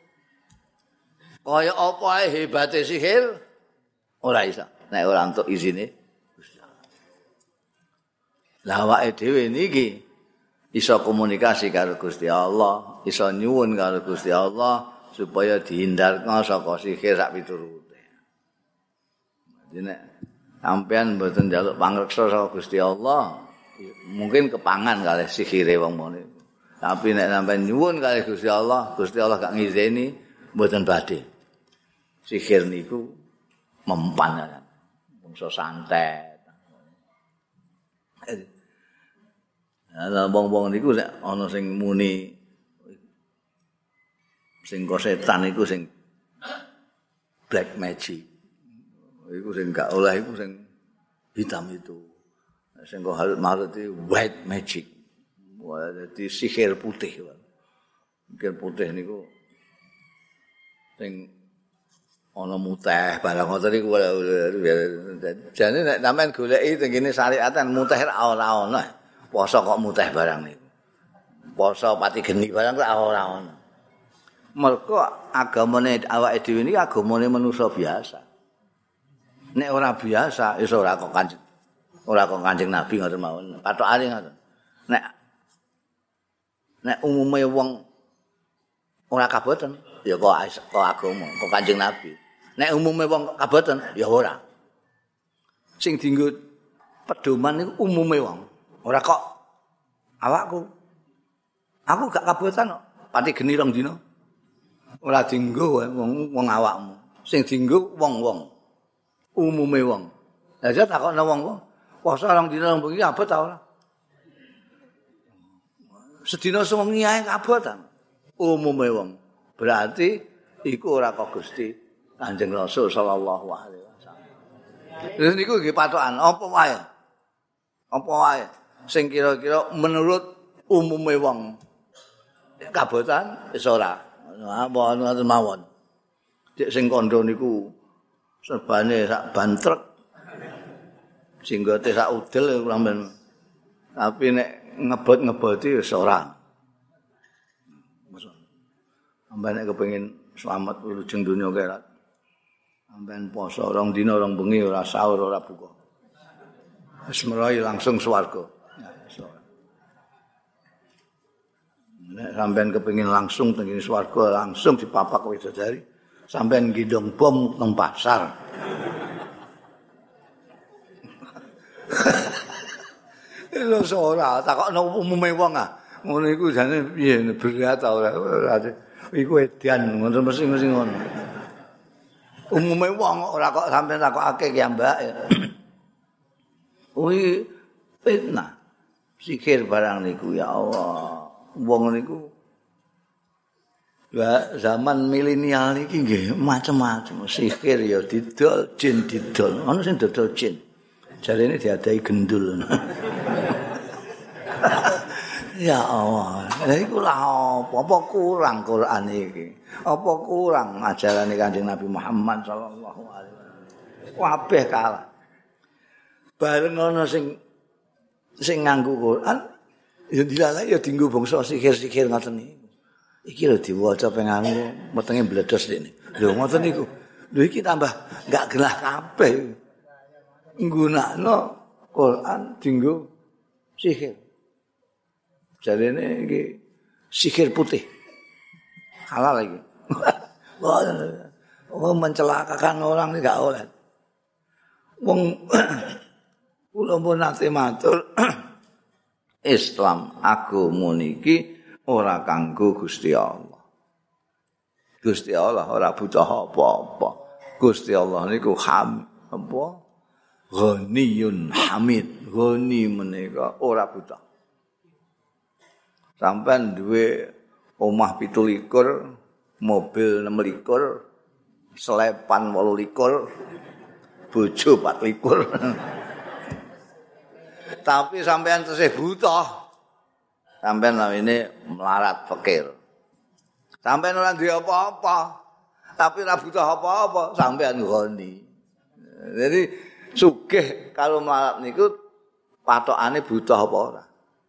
Kaya apa ae hebate sihir ora iso nek ora entuk izine Gusti Allah. Lah awake dhewe niki iso komunikasi karo Gusti Allah, iso nyuwun karo Gusti Allah supaya dihindarno saka sihir sak piturute. Dadi nek sampean mboten njaluk pangreksa saka Gusti Allah, mungkin kepangan kalih sihire wong mone. Tapi nek sampean nyuwun kalih Gusti Allah gak ngizeni mboten badhe. Sihir niku mempan kan. Bangsa santet. Lah wong-wong niku nek ana sing muni sing kosetan iku sing black magic. Iku sing gak oleh iku sing hitam itu. Sing kok harut itu white magic. Wah, dadi sihir putih. Sihir putih niku sing ana muteh barang ngoten niku jane nek sampean goleki teng kene syariatan muteh ora ana. Poso kok muteh barang niku. Poso pati geni barang kok ora ana. Mergo agamane awake dhewe niki agamane manusa biasa. Nek ora biasa iso ora kok Kanjeng Nabi ngoten mawon. Pathokane ngoten. Nek umume wong ora kaboten ya kok agama, kok Kanjeng Nabi. Nek umume wong kaboten ya ora. Sing dienggo pedoman niku umume wong. Ora kok awakku. Aku gak kaboten kok. Pati geni rong dina. Ora dienggo wong awakmu. Sing dienggo wong-wong. Umume wong. Lah aja takokno wong-wong. Poso rong dina bengi abot ta ora? Sedina sewengi ae kabotan. Umume wong. Berarti iku ora kok Gusti Kanjeng Rasul sallallahu alaihi wasallam. Lha niku nggih patokan apa wae. Apa wae sing kira-kira menurut umume wong kabotan wis ora. Apa ngoten mawon. Dik sing kandha niku serbane sak ban truk. Jenggote sak udel sampean. Tapi nek ngebot-ngeboti wis ora. Sampeyan nek kepengin selamat wilujeng donya akhirat. Sampeyan poso rong dina rong bengi ora sahur ora buka. Wis meroy langsung swarga. Nek sampeyan kepengin langsung teng swarga langsung dipapak widodari, sampeyan gendong bom nang pasar. Lha ora takokno umume wong ah. Ngono iku jane piye berat ta ora? Iku edan ngono mesti ngono. Umume wong ora kok sampeyan takokake ki Mbak. Kuwi fitnah. Sikir barang niku ya Allah. Wong niku zaman milenial iki nggih macam-macam. Sikir ya didol, jin didol. Ana sing dodol jin. Jarene diadahi gendul. Ya Allah, lha iku lah apa kurang Quran iki? Apa kurang ajarane Kanjeng Nabi Muhammad sallallahu alaihi wasallam? Kabeh kalah. Bareng ana sing nganggo Quran, ya dilalai ya dienggo bangsa sihir-sihir ngoten niku. Iki lho diwaca pengen metenge bledos dene. Lho ngoten niku. Lho iki tambah enggak gelah kabeh. Nggunakno Quran dienggo sihir. Jarene iki sihir putih. Halal lagi. Oh mencelakakan orang ini enggak oleh. Wong kula pun nate matur Islam agama niki ora kanggo Gusti Allah. Gusti Allah ora butuh apa-apa. Gusti Allah niku apa? Ghaniyun Hamid. Ghani menika ora butuh. Sampai duwe omah 17, mobil 26, selepan 28, bojo 24. Tapi sampean tesih buta. Sampean namine melarat fakir. Sampean ora duwe apa-apa. Tapi ora butuh apa-apa, sampean ngoni. Jadi sugih kalau melarat niku patokane butuh apa ora.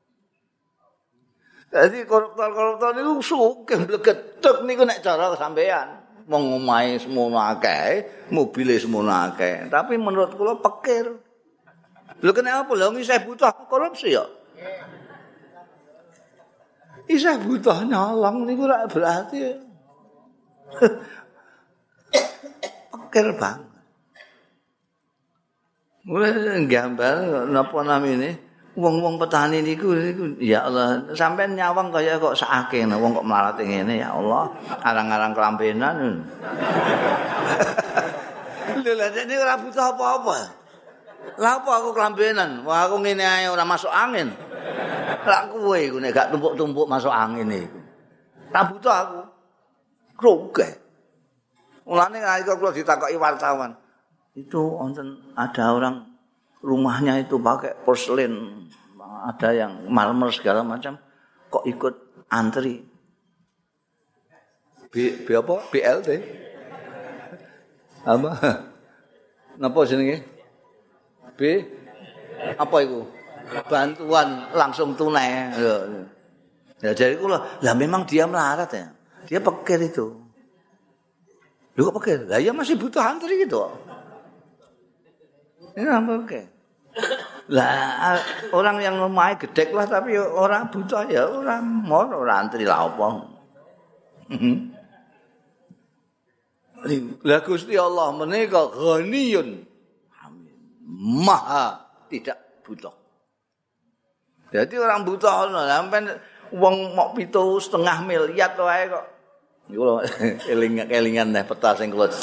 Jadi koruptor niku sugih mblegetek niku nek cara sampean. Wong omahe semono akeh, mobile semono akeh, tapi menurut kula pikir. Lho kenapa lho isih butuh korupsi ya? Isih butuh nyolong niku ora berarti. Pikir banget. Mulai gambar napa namine? Wong-wong petani niku ya Allah sampean nyawang kaya kok sakake wong kok melarat ngene ya Allah arang-arang kelambenan. Lha jane ora butuh apa-apa. Lah apa aku kelambenan? Wah aku ngene ae ora masuk angin. Lah kowe iku nek gak tumpuk-tumpuk masuk angin iku. Ora butuh aku. Krogeh. Mulane nalika kula ditakoki wartawan. Itu wonten ada orang rumahnya itu pakai porselin, ada yang marmer segala macam, kok ikut antri. Apa? BLT? Apa? Napa jenenge? Apa itu? Bantuan langsung tunai. Ya jadi kula, lah memang dia melarat ya. Dia pikir itu. Lu kok pikir? Lah ya masih butuh antri gitu. Ini apa oke? Lah orang yang omahe gedhek lah tapi orang butuh ya orang mor ora antri lah apa. Lah Gusti Allah menika ghaniyun hamid. Maha tidak butuh. Jadi orang butuh sampean wong mok 7,5 miliar wae kok Niku eling-elingan nek peta sing kula.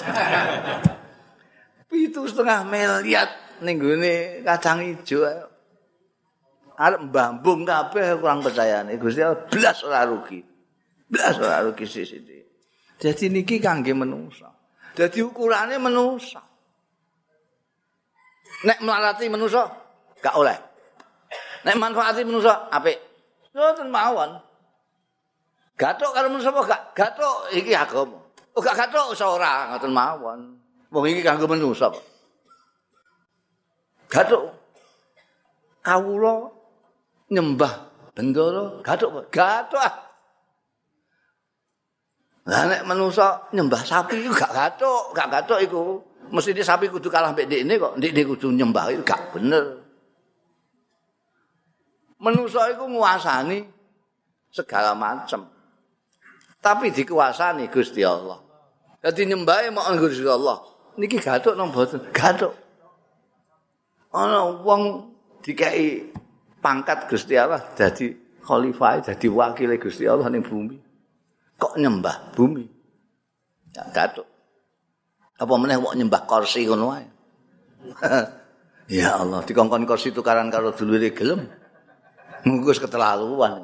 7,5 miliar ning gone kacang ijo. Arep mbambung kabeh kurang percayane. Gusti Allah blas ora rugi. Blas ora rugi sithik. Dadi niki kangge manusa. Dadi ukurane manusa. Nek melarati manusa gak oleh. Nek manfaati manusa apik. Ngoten mawon. Gathuk karo manusa apa gak? Gathuk iki agama. Oh gak gathuk iso ora ngoten mawon. Wong iki kanggo manusa kok. Gathuk. Kawula nyembah bendara gathuk. Gathuk. Lah nek manusa nyembah sapi iku gak gathuk iku. Mesti sapi kudu kalah mbek ndekne kok. Ndekne kudu nyembah iku gak bener. Manusa iku nguasani segala macam. Tapi dikuasani Gusti Allah. Dadi nyembahe mok Gusti Allah. Niki gathuk nang boten? Gathuk. Ana wong dikai pangkat Gusti Allah dadi khalifah, dadi wakile Gusti Allah ning bumi. Kok nyembah bumi? Ya gathuk. Apa meneh kok nyembah kursi ngono wae. Ya Allah, dikongkon kursi tukaran karo dulure gelem. Mungkus keterlaluan.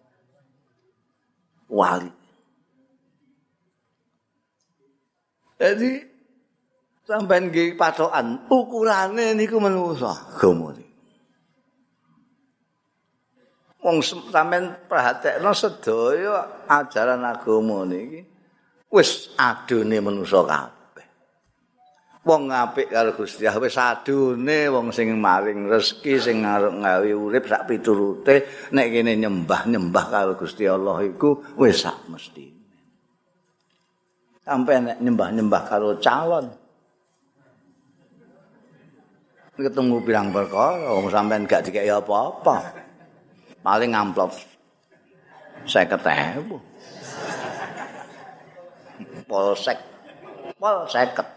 Wali. Jadi sampean nggih patokan ukurane niku menungso agama niku. Wong sampean perhatekno sedaya ajaran agama niki wis adone menungso kabeh. Wong apik karo Gusti Allah wis adone wong sing maring rezeki sing arep gawe urip sak piturute nek kene nyembah karo Gusti Allah iku wis sak mesti. Sampai nek nyembah-nyembah karo calon. Ketemu pirang perkara, wong sampean gak dikeki apa-apa. Paling amplop 50.000. Polsek 50.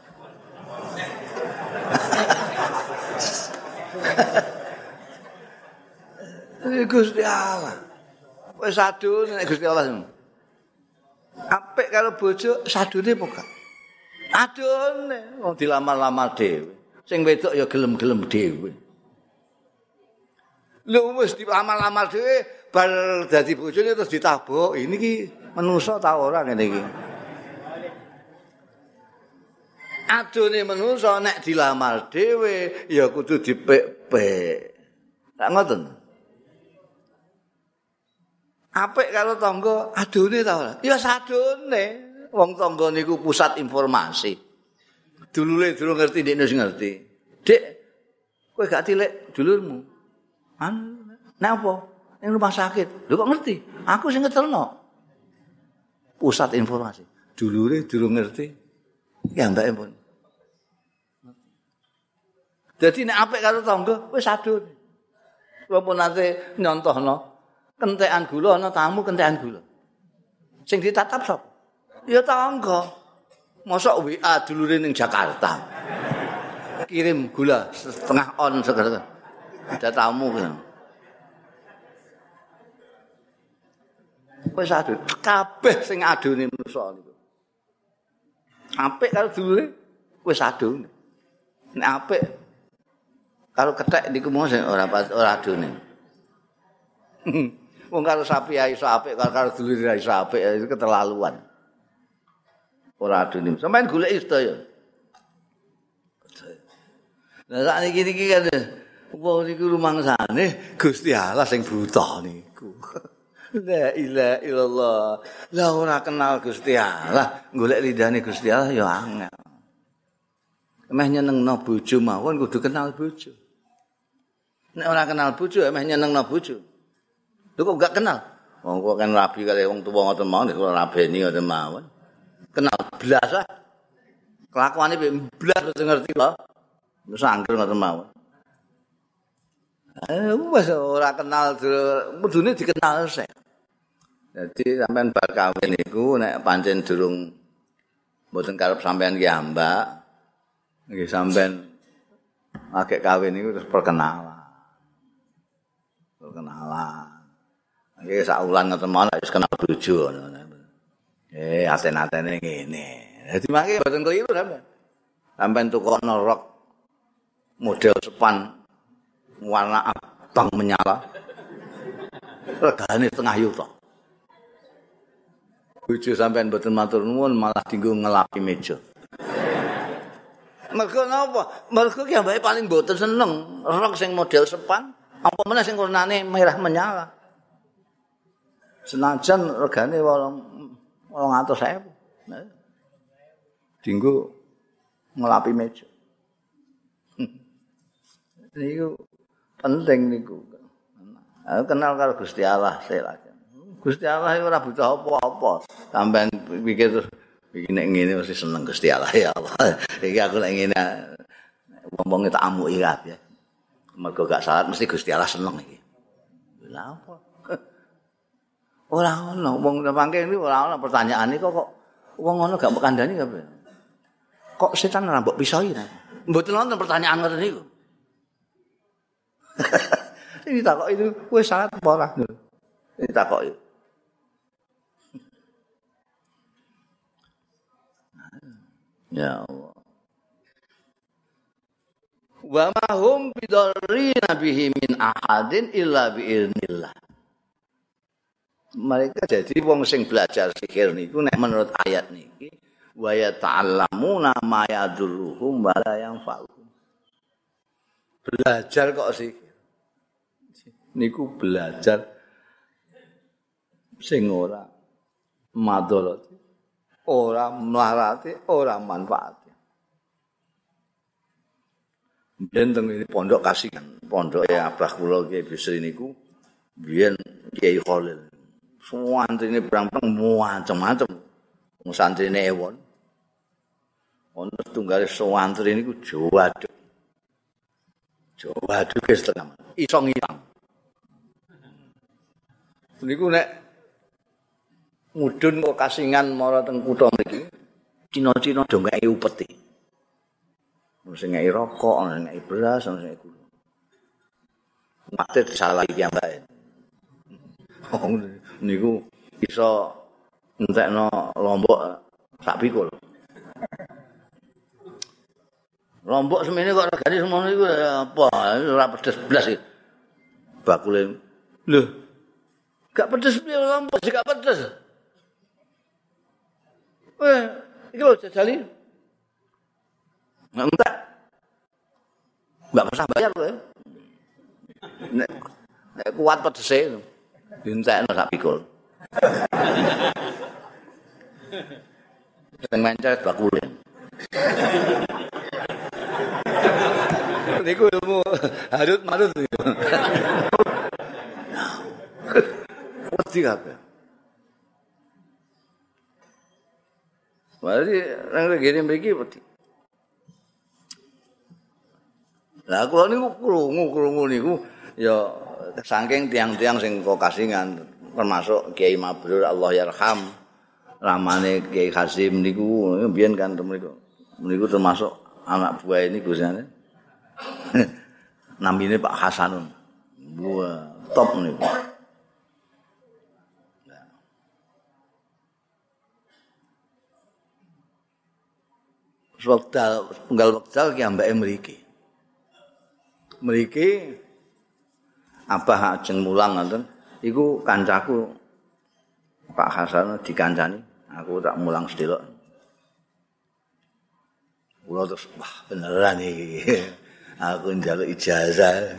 Gusti Allah. Wis adune nek Gusti Allah. Apik karo bojo sadune apa gak? Adone wong dilamar-lamar dhewe. Sing wedok ya gelem-gelem dhewe. Lho wis dilamar-lamar dhewe bar dadi bojone terus ditabuk. Ini ki manusa ta ora ngene iki. Adone manusa nek dilamar dhewe ya kudu dipek-pek. Tak ngoten. Apik karo tangga adone ta ora? Ya sadone. Wong tangga niku pusat informasi. Dulure durung ngerti ndekne sing ngerti. Dik, kowe gak tilik dulurmu. Nek apa? Ning rumah sakit. Lho kok ngerti? Aku sing ngetelno. Pusat informasi. Dulure durung ngerti. Ya mbake pun. Dadi nek apik karo tangga wis sadone. Kula pun nate nyontohno kentekan gula ana tamu kentekan gula. Sing ditatap sapa? Ya tangga. Mosok WA dulure ning Jakarta. Kirim gula setengah on segala. Ada tamu kan. Wis adu kabeh sing adune manusa niku. Apik karo dulure wis adu. Nek apik karo kethek niku mosok ora adune. Wong karo sapi ae iso apik, karo dulur iso apik, itu keterlaluan. Ora adune. Sampeyan goleki sedaya. Lah sak niki kan wong niku rumangsane Gusti Allah sing buta niku. La ilaha illallah. Lah ora kenal Gusti Allah, golek lidane Gusti Allah ya angel. Meh nyenengno bojo mawon kudu kenal bojo. Nek ora kenal bojo meh nyenengno bojo. Lho kok gak kenal? Wong kok kan rabi kali wong tuwa ngoten mawon kok rabeni ngoten mawon. Kenal blas ah. Kelakuane blas ngerti lho. Wis angger ngoten mawon. Wis ora kenal kudune dikenal sik. Jadi sampean bar kawin niku nek pancen durung mboten karep sampean ki ambak. Nggih sampean agek kawin niku terus perkenalan. Perkenalan. Nggih sak wulan ngoten mawon wis kenal bojo. Aten-atene ngene. Dadi mangke mboten keliru sampean. Sampeyan tukokno rok model sepan warna abang menyala. Regane setengah yuta. Bojo sampean mboten matur nuwun malah dienggo ngelapi meja. Mergo napa? Mergo ki ambake paling mboten seneng rok sing model sepan, apa meneh sing warnane merah menyala. Senajan regane 800.000. Nah. Dienggo ngelapi meja. Niku penting niku. Aku kenal karo Gusti Allah lagi. Gusti Allah itu ora butuh apa-apa. Sampeyan pikir terus iki nek ngene mesti seneng Gusti Allah ya Allah. Iki aku nek ngene wong-wong tak amuki kabeh. Mergo gak salat mesti Gusti Allah seneng iki. Lha apa? Ora ono wong mangke iki ora ono pertanyaan iki kok wong ngono gak mbok kandhani kabeh. Kok setan ora mbok pisoi ta? Mboten wonten pertanyaan ngoten niku. Ini takok itu wis salat apa ora? Ini takok itu. Ya Allah. Wa ma hum bidarrina bihi min ahadin illa biiznillah. Mereka jadi wong sing belajar sihir niku nek menurut ayat niki wa yata'allamuna ma yadurruhum wa la yanfa'uhum. Belajar kok sihir. Niku belajar sing ora madharati, ora mlarati, ora manfaati. Biyen teng pondok Kasihan, pondoke abah kula Kiai Bisri niku biyen Kiai Khalil. Santrine berang-berang macam-macam. Wong santrine ewon. Ono setunggal santri niku Jawaduk. Jawaduk setengah. Iso ngilang. Niku nek mudhun kok kasingan mara teng kutha mriki, Cina-cina do ngeki upeti. Sing ngeki rokok, sing ngeki beras, sing ngeki gula. Mate disalahi piyambake. Oh niku iso entekno lombok sak pikul. Lombok semene kok regane semono iku apa? Ora pedes blas iki. Bakule. Lho. Gak pedes piye lombok sik gak pedes. Iki lho jajali. Entek. Mbak usah bayar kowe. Nek kuat pedese dintekno sak pikul. Sing mencet bakule. Niku ilmu harut marut niku. Wedi kabeh. Mari nang ngene mriki wedi. Lah kula niku krungu niku ya saking tiang-tiang sing kok kasingan termasuk Kiai Mabrur Allah yarham ramane Kiai Hasim niku mbiyen kan mriku termasuk anak buah ini gusane. Namine Pak Hasanun. Wah, top niku. Penggal wekdal ki ambake mriki. Mriki Abah ajeng mulang ngoten iku kancaku Pak Hasan dikancani, aku tak mulang sedelok. Kula terus wah beneran iki. Aku njaluk ijazah.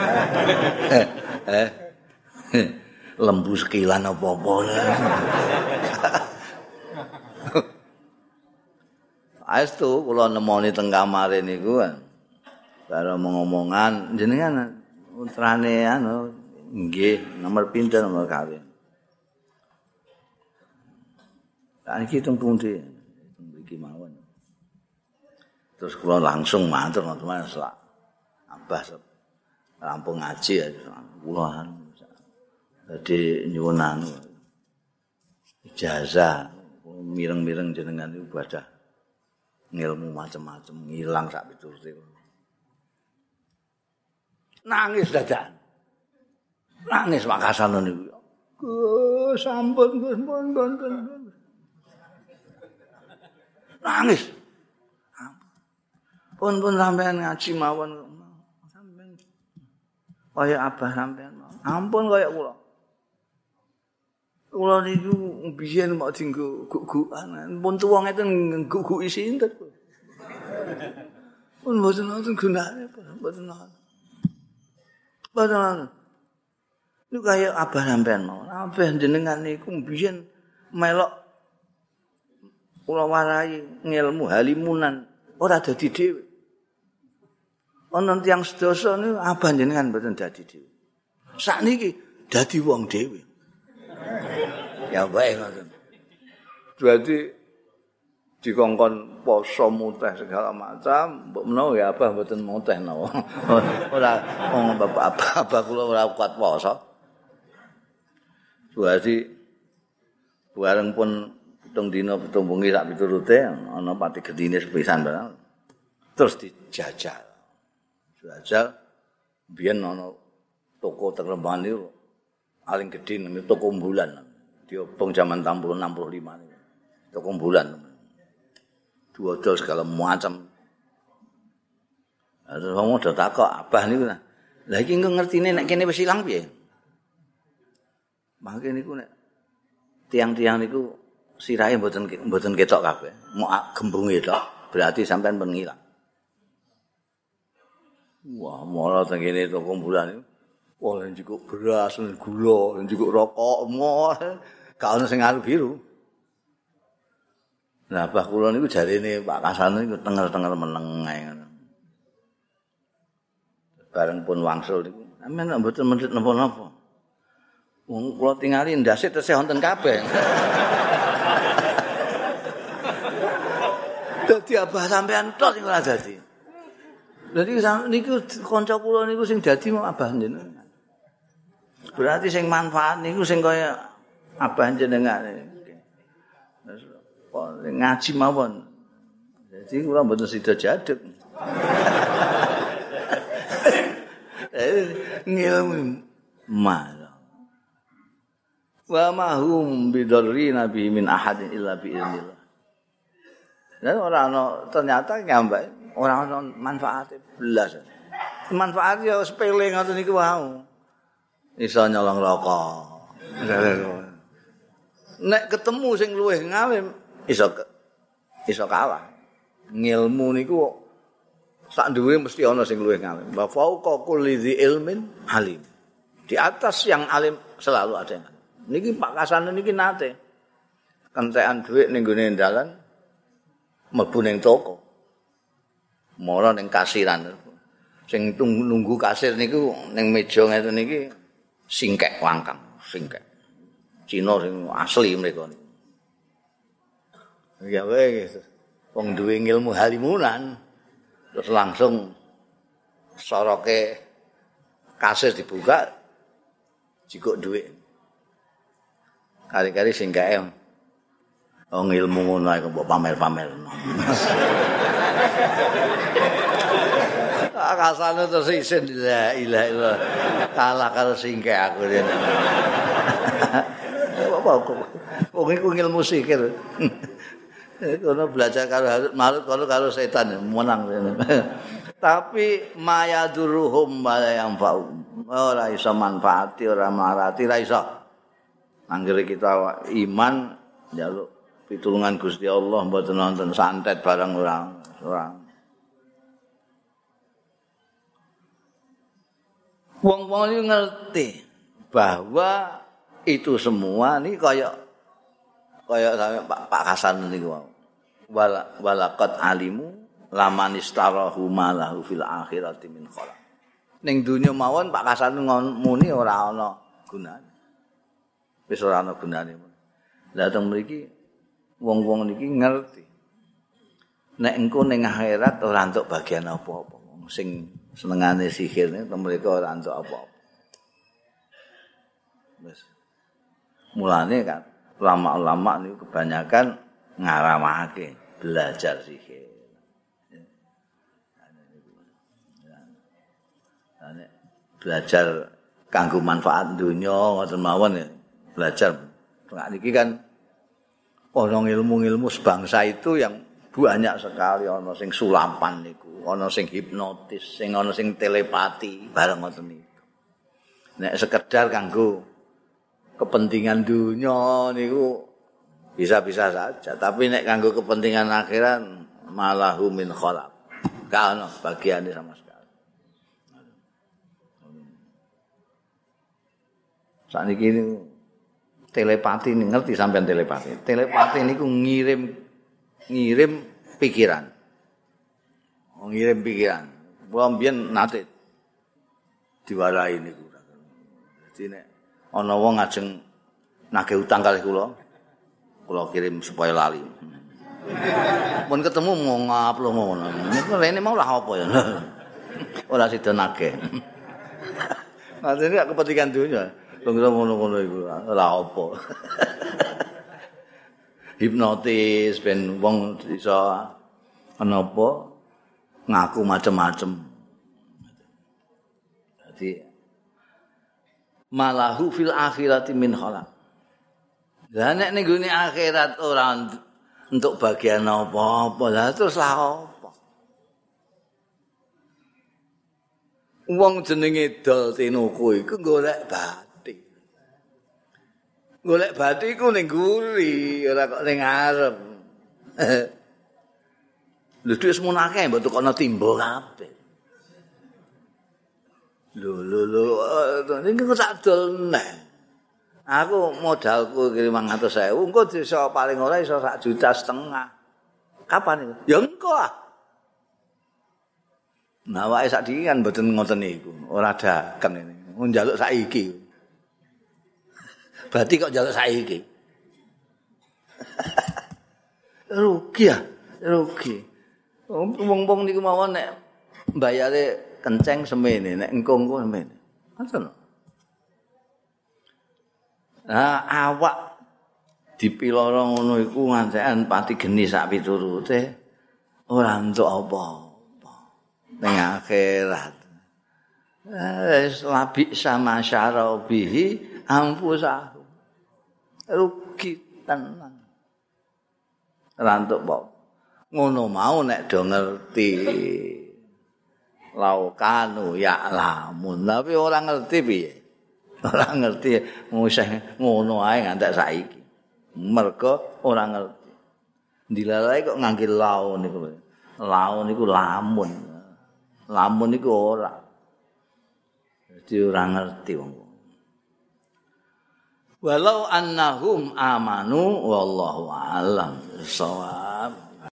Lembu sekilan apa-apa. Aestu kula nemoni teng kamare niku karo ngomongan jenengan putrane nggih nomor pinten nomor kawin. Lah iki teng pundi? Mriki mawon. Terus kula langsung matur ngoten Mas Abah rampung ngaji ya kula dadi nyuwun ijazah mireng-mireng jenengan ibadah ngilmu macam-macam ngilang sak piturute. Nangis dadakan. Nangis Pak Hasan niku. Gus sampun Gus pun. Nangis. Pun sampean ngaji mawon. Sampean kaya abah sampean. Ampun kaya kula. Kula niku biyen mok dienggo guk-gukan. Pun tuwa ngeten guk-guki sinten. Pun mboten wonten gunane, mboten wonten. Mboten. Niku kaya abah sampean mawon. Abah jenengan niku biyen melok kula warai ngilmu halimunan ora dadi dhewe. Ana tiyang sedasa niku abah jenengan mboten dadi dhewe. Sakniki dadi wong dhewe. Ya bae ngoten. Berarti dikongkon poso muteh segala macam, mbok menawa ya abah mboten muteh napa. Ora wong bapak abah kula ora kuat poso. Berarti bareng pun pitung dina pitung bengi sak piturute ana pati gedine sepisan barang. Terus dijajal. Dijajal biyen ana toko Terlembahan niku paling gedhe namanya toko Bulan. Diobong zaman 60 65 niku. Toko Bulan. Duodol segala macam. Terus wong do takok abah niku. Lah iki engko ngertine nek kene wis ilang piye? Mangke niku nek tiang-tiang niku sirahe mboten ketok kabeh. Mok gembunge tok, berarti sampean pun ngilang. Wah, mara teng kene toko Bulan niku. Wah, njukuk beras, gula, njukuk rokok, gak ono sing aru biru. Lah bah kula niku jarene Pak Kasan niku tenger-tenger meneng ae ngono. Bareng pun wangsul niku, sampeyan mboten mendhet napa-napa. Wong kula tingali ndase tesih wonten kabeh. Dadi abah sampean tok sing ora dadi. Dadi niku kanca kula niku sing dadi abah jenengan. Berarti sing manfaat niku sing kaya abah jenengan. Ngaji mawon. Jadi kula mboten sida jaduk. Ngilmu malah. Wa ma hum bidarri nabi min ahadin illa bi idznillah. Dan ternyata nyampe ora ana manfaate blas. Manfaate ya sepele ngoten niku wau. Iso nyolong rokok. Nek ketemu sing luwih ngalim iso kalah. Ngilmu niku sak dhuwure mesti ana sing luwih ngalim. Wa fauqa kulli dzi ilmin alim. Di atas yang alim selalu ada yang alim. Niki Pak Kasan niki nate kentekan dhuwit ning gone dalan mlebu ning toko. Mara ning kasiran. Sing nunggu kasir niku ning meja ngeten niki singkek wangkang, singkek. Cina sing asli mereka niku. Ya wis wong duwe ilmu halimunan terus langsung soroke kasir dibuka jikuk dhuwit. Kari-kari singkeke wong ilmu ngono ae kok pamer-pamer. Kasane terus isin la ilaha illallah. Kalah karo singkek aku rene. Apa kok wong iku ilmu sikil. Kono belajar karo Harut Marut karo setan menang. Tapi mayaduruhum wala yanfa'um. Ora iso manfaati, ora marati, ora iso. Anggere kita iman njaluk pitulungan Gusti Allah mboten wonten santet barang ora. Wong-wong iki ngerti bahwa itu semua ini kaya Pak Hasan niku wau. Walaqad alimu laman istarahu malahu fil akhirati min khalaq. Ning donya mawon Pak Hasan muni ora ana gunane. Wis ora ana gunane. Lah teng mriki wong-wong niki ngerti. Nek engko ning akhirat ora entuk bagian apa-apa. Sing senengane sihir niku mereka ora entuk apa-apa. Wis. Mulane kan ulama-ulama niku kebanyakan ngaramake belajar sihir. Belajar kanggo manfaat dunya ngoten mawon ya. Belajar. Nah niki kan ana ilmu-ilmu sebangsa itu yang Banyak sekali ana sing sulapan niku, ana sing hipnotis, ana sing telepati, bareng ngoten niku. Nek sekedar kanggo kepentingan dunia niku bisa-bisa saja, tapi nek kanggo kepentingan akhirat malahu min khalaq. Gak ono bagiane sama sekali. Sakniki niku telepati ngerti sampean telepati. Telepati niku ngirim pikiran. Ngirim pikiran. Kula mbiyen nate diwarai niku. Dadi nek ana wong ajeng nagih utang kalih kula kirim supaya lali. Mun ketemu mau ngaplo ngono. Niku rene mau lah apa ya. Ora sida nagih. Maksudnya kepentingan dunia. Wong ngono-ngono iku ora apa. Hipnotis ben wong iso napa ngaku macem-macem. Jadi malahu fil akhirati min khalaq. Lah nek ning gone akhirat ora untuk bagian apa-apa lah terus lah apa. Wong jenenge dol tinuku iku golek bathi. Golek bathi iku ning guri, ora kok ning arep. Lho dhuwit semono akeh mbok tukokno timba kabeh. Lho, niku sak dol neh. Aku modalku 500.000, engko iso paling ora iso 1,5 juta. Kapan itu? Ya engko ah. Nah, wae sakniki kan mboten ngoten niku, ora dagang ini. Mun njaluk saiki. Berarti kok njaluk saiki. Rugi ya, rugi. Wong-wong niku mawon nek mbayare kenceng semene, nek engko semene. Ngoten. Nah, awak dipiloro ngono iku ngantekan pati geni sak piturute ora entuk apa-apa ning akhirat. Wis labi sama syarabihi ampusahu. Rugi tenan. Ora entuk apa. Ngono mau nek do ngerti. Laukanu ya lamun, tapi ora ngerti piye. Ora ngerti ngusah ngono ae ngantek saiki. Mergo ora ngerti. Dilalae kok ngangge laun niku. Laun niku lamun. Lamun niku ora. Dadi ora ngerti wong. Walau annahum amanu wallahu alam.